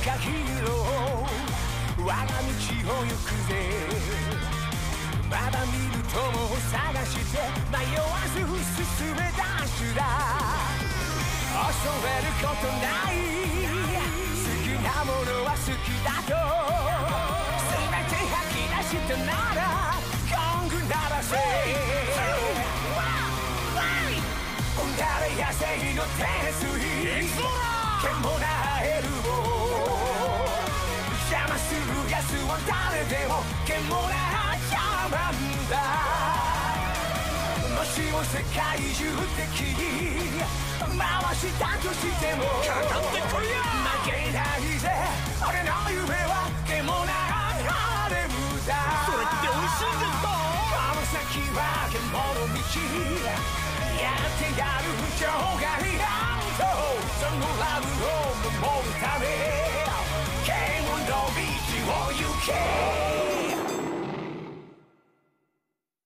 かヒーロー我が道を行くぜまだ見る友を探して迷わず進め出すだ恐れることない好きなものは好きだと全て吐き出したならゴング鳴らせ誰野生の天水剣もなエルボ邪魔する奴は誰でも剣もな邪魔んだもしも世界中的に回したとしてもかかってこいや負けないぜ俺の夢は剣もなハレムだそれって美味しいんですかこの先は剣の道やってやる場外乱闘そのラブを守るため剣の道を行け